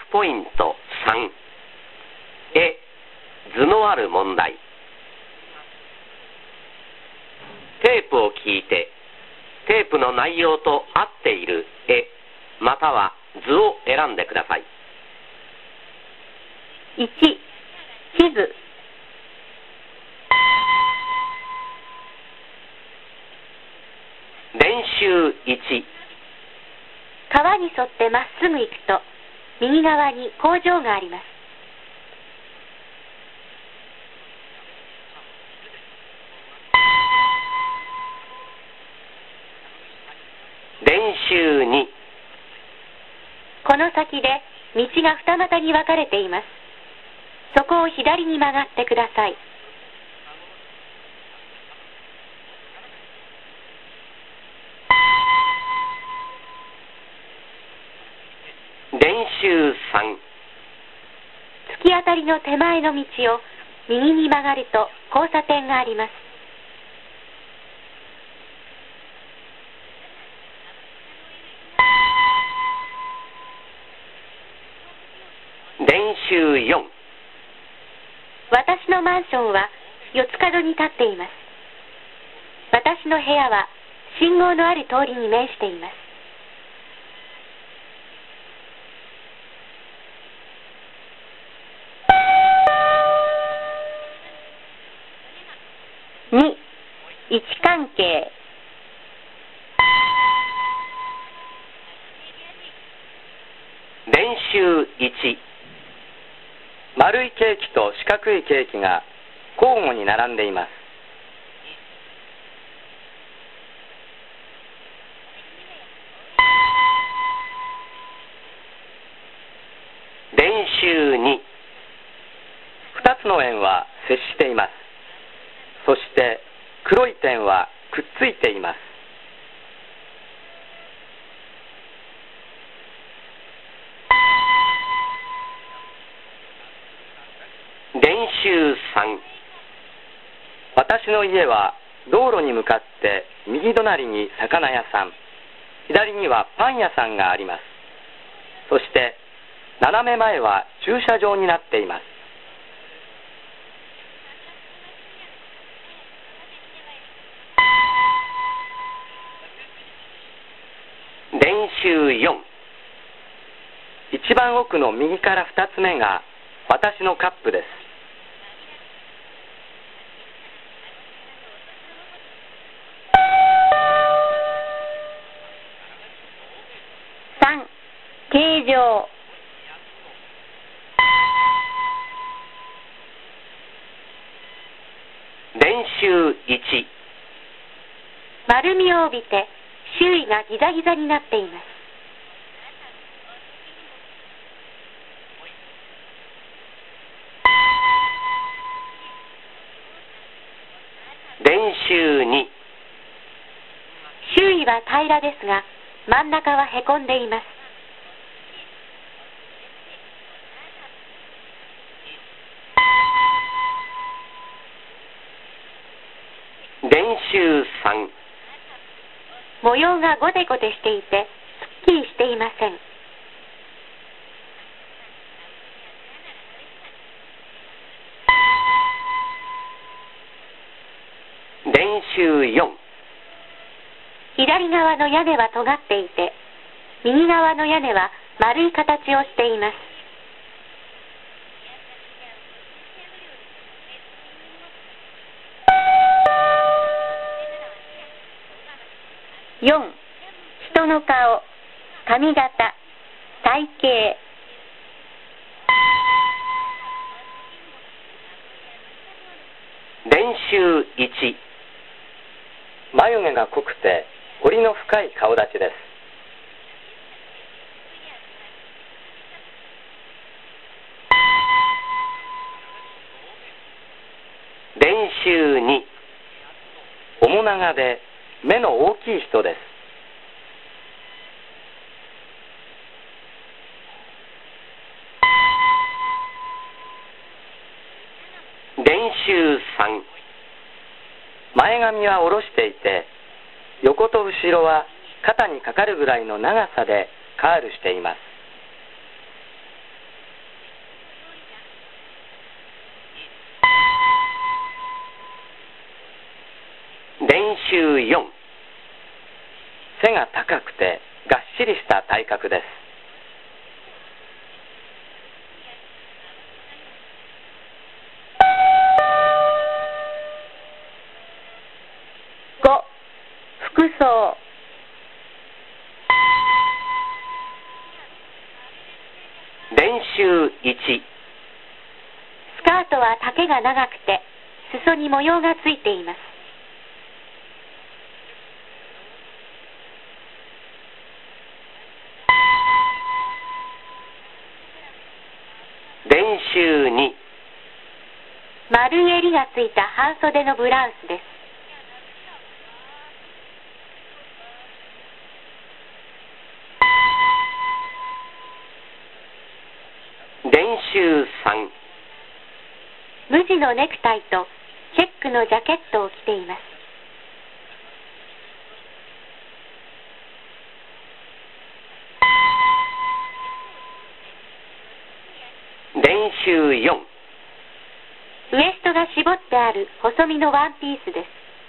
ポイント3、図のある問題。テープを聞いて、テープの内容と合っている絵、または図を選んでください。 1、地図。 練習1。 川に沿ってまっすぐ行くと、右側に工場があります。 練習2。 この先で道が二股に分かれています。そこを左に曲がってください。 練習3。 突き当たりの手前の道を右に曲がると交差点があります。 練習4。 私のマンションは四つ角に立っています。私の部屋は信号のある通りに面しています。2、位置関係。 練習1。丸いケーキと四角いケーキが交互に並んでいます。練習2。2つの円は接しています。そして黒い点はくっついています。練習3。私の家は道路に向かって右隣に魚屋さん、左にはパン屋さんがあります。そして斜め前は駐車場になっています。練習4。一番奥の右から2つ目が私のカップです。 3、形状。 練習1。 丸みを帯びて周囲がギザギザになっています。 練習2。 周囲は平らですが、真ん中はへこんでいます。 練習3。 模様がゴテゴテしていて、すっきりしていません。 練習4。 左側の屋根は尖っていて、右側の屋根は丸い形をしています。4、人の顔、髪型、体型。 練習1。眉毛が濃くて彫りの深い顔立ちです。練習2。面長で目の大きい人です。練習3。前髪は下ろしていて、横と後ろは肩にかかるぐらいの長さでカールしています。 背が高くてがっしりした体格です。 5、服装。 練習1。 スカートは丈が長くて裾に模様がついています。 練習2。 丸い襟がついた半袖のブラウスです。 練習3。 無地のネクタイとチェックのジャケットを着ています。 練習4。 ウエストが絞ってある細身のワンピースです。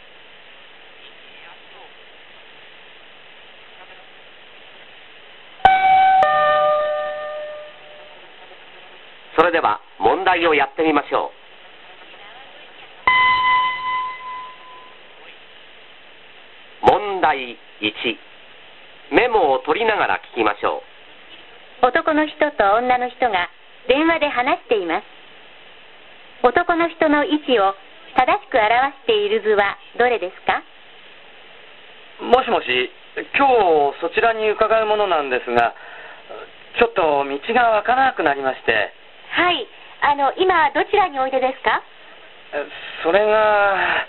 それでは問題をやってみましょう。問題1。メモを取りながら聞きましょう。 男の人と女の人が電話で話しています。男の人の位置を正しく表している図はどれですか？ もしもし、今日そちらに伺うものなんですが、ちょっと道がわからなくなりまして。 はい、今どちらにおいでですか？ それが、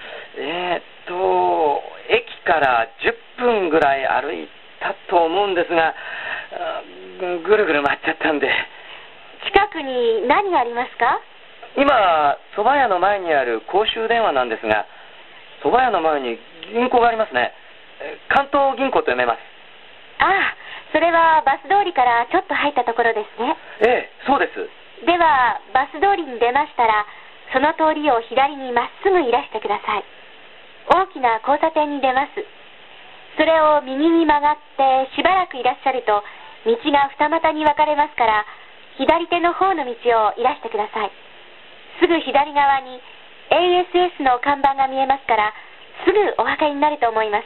駅から10分ぐらい歩いたと思うんですが、ぐるぐる回っちゃったんで。 近くに何がありますか？ 今、蕎麦屋の前にある公衆電話なんですが、蕎麦屋の前に銀行がありますね。関東銀行と読めます。 ああ、それはバス通りからちょっと入ったところですね。 ええ、そうです。 では、バス通りに出ましたら、その通りを左にまっすぐいらしてください。大きな交差点に出ます。それを右に曲がってしばらくいらっしゃると、道が二股に分かれますから、左手の方の道をいらしてください。すぐ左側に ASS の看板が見えますから、すぐお分かりになると思います。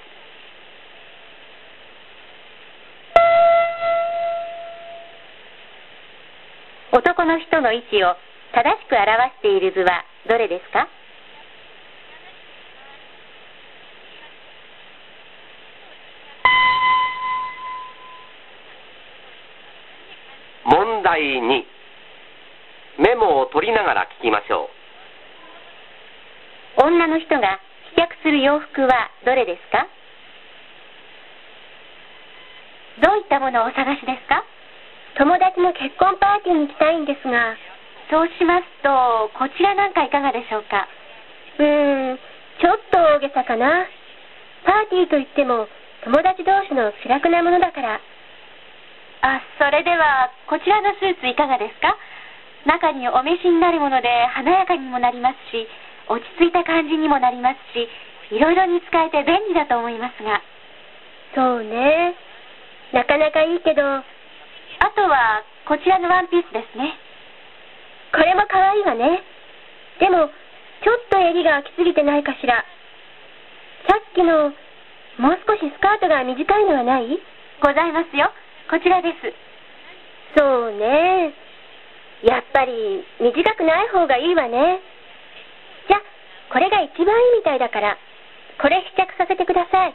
男の人の位置を正しく表している図はどれですか？ 問題2。メモを取りながら聞きましょう。女の人が試着する洋服はどれですか？どういったものをお探しですか？友達の結婚パーティーに行きたいんですが。そうしますと、こちらなんかいかがでしょうか？ちょっと大げさかな。パーティーといっても友達同士の気楽なものだから。あ、それではこちらのスーツいかがですか？中にお召しになるもので華やかにもなりますし、落ち着いた感じにもなりますし、いろいろに使えて便利だと思いますが。そうね。なかなかいいけど、あとはこちらのワンピースですね。これも可愛いわね。でもちょっと襟が空きすぎてないかしら。さっきのもう少しスカートが短いのはない？ございますよ。こちらです。そうね。やっぱり短くない方がいいわね。じゃ、これが一番いいみたいだから、これ試着させてください。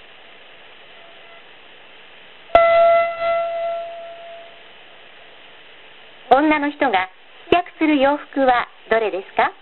女の人が試着する洋服はどれですか？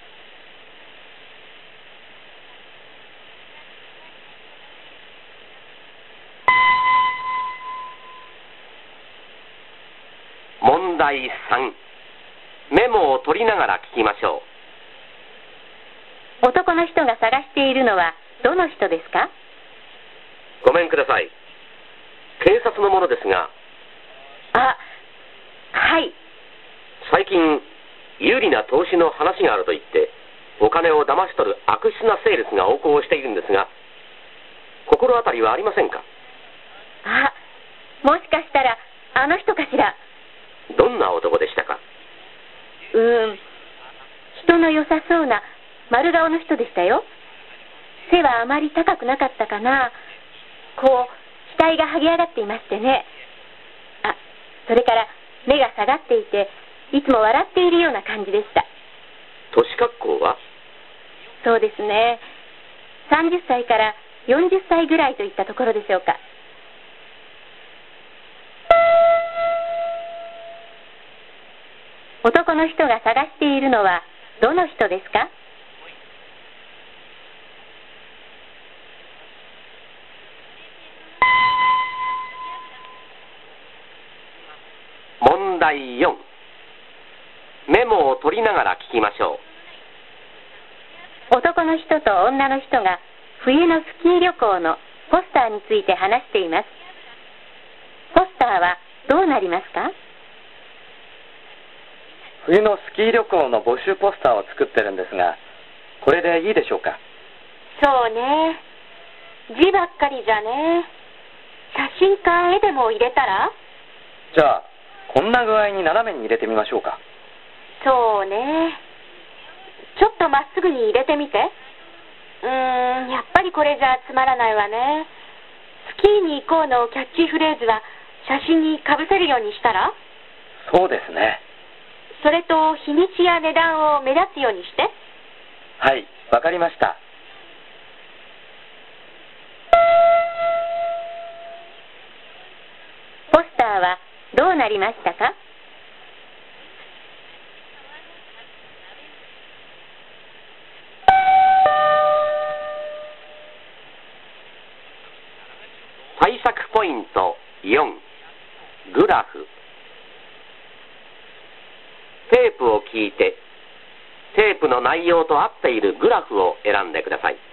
問題3。メモを取りながら聞きましょう。男の人が探しているのはどの人ですか？ ごめんください。警察の者ですが。 あ、はい。 最近、有利な投資の話があると言って、お金を騙し取る悪質なセールスが横行しているんですが、心当たりはありませんか？ もしかしたらあの人かしら。 どんな男でしたか？ 人の良さそうな丸顔の人でしたよ。背はあまり高くなかったかな。こう額が剥げ上がっていましてね。それから目が下がっていて、いつも笑っているような感じでした。 年格好は？ そうですね、30歳から40歳ぐらいといったところでしょうか。男の人が探しているのはどの人ですか？ 問題4。メモを取りながら聞きましょう。男の人と女の人が冬のスキー旅行のポスターについて話しています。ポスターはどうなりますか？ 冬のスキー旅行の募集ポスターを作ってるんですが、これでいいでしょうか？ そうね、字ばっかりじゃね。写真か絵でも入れたら？ じゃあこんな具合に斜めに入れてみましょうか。 そうね、ちょっとまっすぐに入れてみて。やっぱりこれじゃつまらないわね。スキーに行こうのキャッチフレーズは写真にかぶせるようにしたら？ そうですね。 それと日にちや値段を目立つようにして。 はい、わかりました。 ポスターはどうなりましたか？ 対策ポイント4、グラフ。テープを聞いて、テープの内容と合っているグラフを選んでください。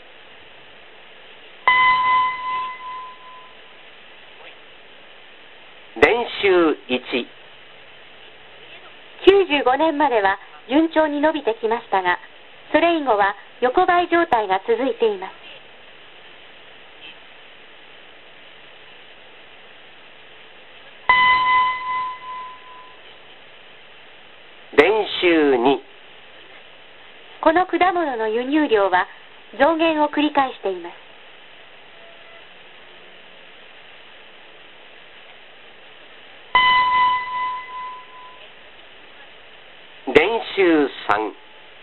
練習1。 95年までは順調に伸びてきましたが、それ以後は横ばい状態が続いています。 練習2。 この果物の輸入量は増減を繰り返しています。 練習3。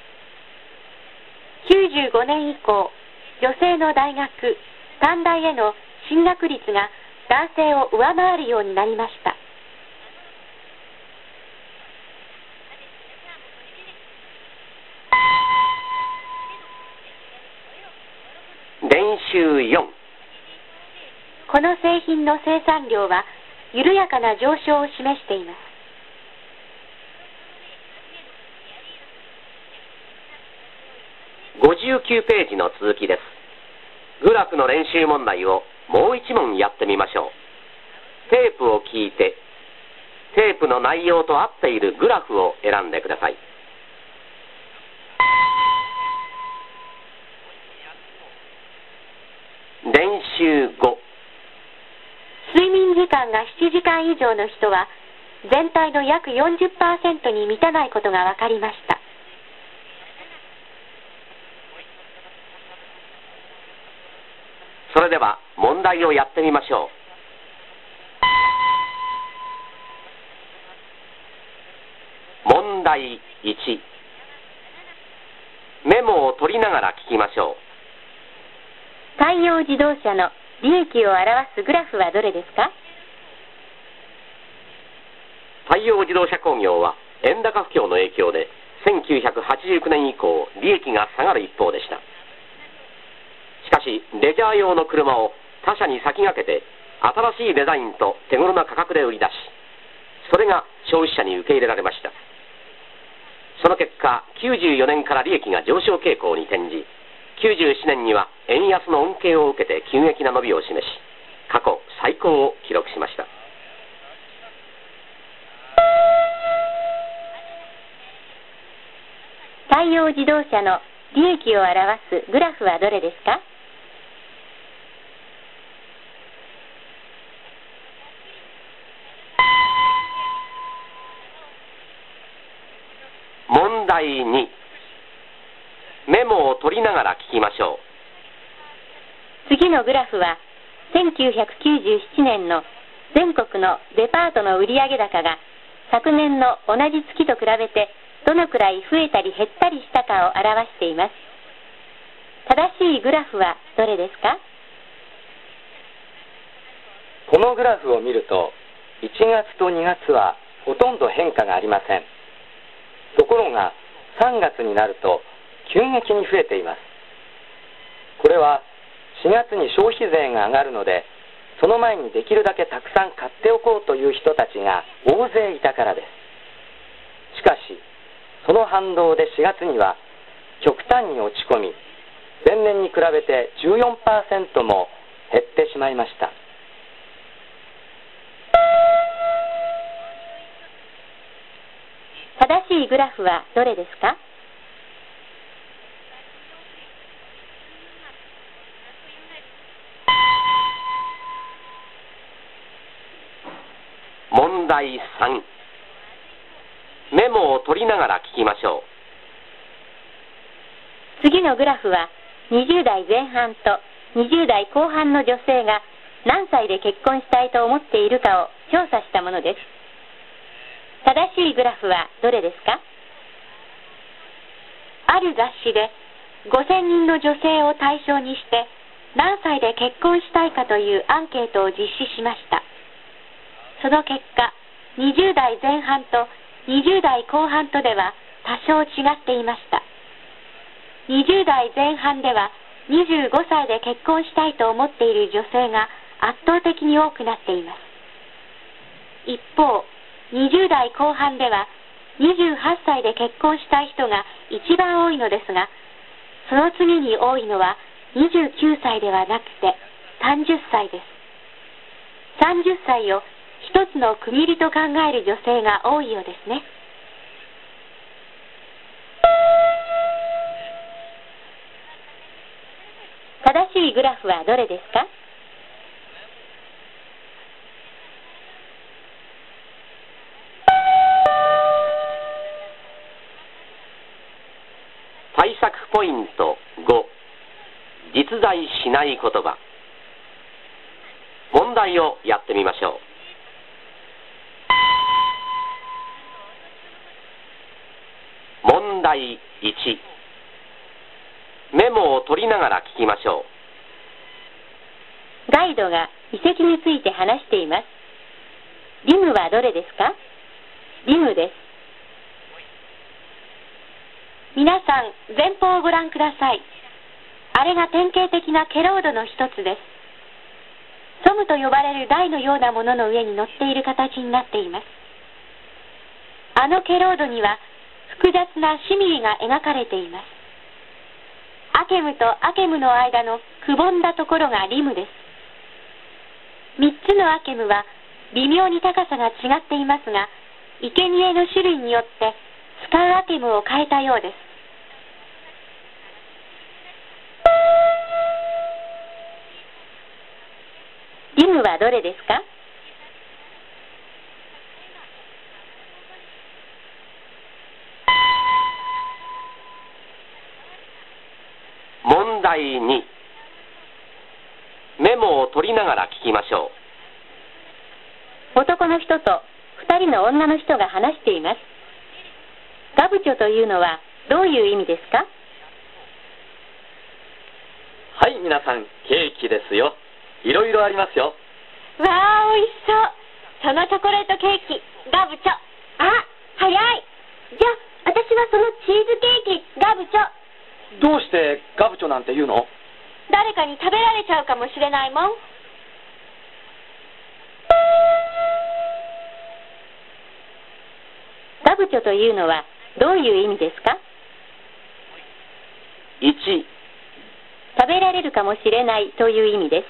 95年以降、女性の大学、短大への進学率が男性を上回るようになりました。 練習4。 この製品の生産量は緩やかな上昇を示しています。 59ページの続きです。グラフの練習問題をもう1問やってみましょう。テープを聞いて、テープの内容と合っているグラフを選んでください。練習5。 睡眠時間が7時間以上の人は全体の約 40% に満たないことが分かりました。 それでは問題をやってみましょう。問題1。メモを取りながら聞きましょう。 太陽自動車の利益を表すグラフはどれですか？ 太陽自動車工業は円高不況の影響で1989年以降利益が下がる一方でした。しかしレジャー用の車を他社に先駆けて新しいデザインと手頃な価格で売り出し、それが消費者に受け入れられました。その結果94年から利益が上昇傾向に転じ、97年には円安の恩恵を受けて急激な伸びを示し、過去最高を記録しました。 太陽自動車の利益を表すグラフはどれですか？ 問題2、メモを取りながら聞きましょう。次のグラフは、1997年の全国のデパートの売上高が昨年の同じ月と比べてどのくらい増えたり減ったりしたかを表しています。正しいグラフはどれですか？ このグラフを見ると、1月と2月はほとんど変化がありません。ところが、3月になると急激に増えています。これは4月に消費税が上がるので、その前にできるだけたくさん買っておこうという人たちが大勢いたからです。しかし、その反動で4月には極端に落ち込み、前年に比べて 14% も減ってしまいました。 正しいグラフはどれですか？ 問題3、メモを取りながら聞きましょう。次のグラフは20代前半と20代後半の女性が何歳で結婚したいと思っているかを調査したものです。正しいグラフはどれですか？ある雑誌で5000人の女性を対象にして何歳で結婚したいかというアンケートを実施しました。その結果、20代前半と20代後半とでは多少違っていました。20代前半では25歳で結婚したいと思っている女性が圧倒的に多くなっています。一方、20代後半では28歳で結婚したい人が一番多いのですが、その次に多いのは29歳ではなくて30歳です。30歳を一つの区切りと考える女性が多いようですね。正しいグラフはどれですか？ 対策ポイント5、実在しない言葉。問題をやってみましょう。問題1、メモを取りながら聞きましょう。ガイドが遺跡について話しています。リムはどれですか？リムです。皆さん、前方をご覧ください。あれが典型的なケロードの一つです。ソムと呼ばれる台のようなものの上に乗っている形になっています。あのケロードには複雑なシミリが描かれています。アケムとアケムの間のくぼんだところがリムです。3つのアケムは微妙に高さが違っていますが、生贄の種類によって使うアケムを変えたようです。リムはどれですか？ 問題2、メモを取りながら聞きましょう。男の人と2人の女の人が話しています。ガブチョというのはどういう意味ですか？ はい、皆さん、ケーキですよ。いろいろありますよ。 わあ、おいしそう。そのチョコレートケーキ、ガブチョ。あ、早い。じゃあ、私はそのチーズケーキ、ガブチョ。 どうしてガブチョなんて言うの？ 誰かに食べられちゃうかもしれないもん。ガブチョというのはどういう意味ですか？ 1、 食べられるかもしれないという意味です。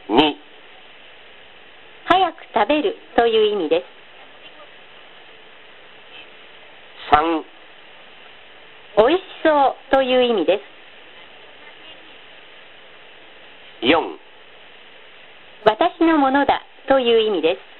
2、 早く食べるという意味です。 3、 おいしそうという意味です。 4、 私のものだという意味です。